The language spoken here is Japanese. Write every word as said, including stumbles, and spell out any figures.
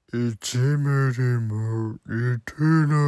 いちミリも似てな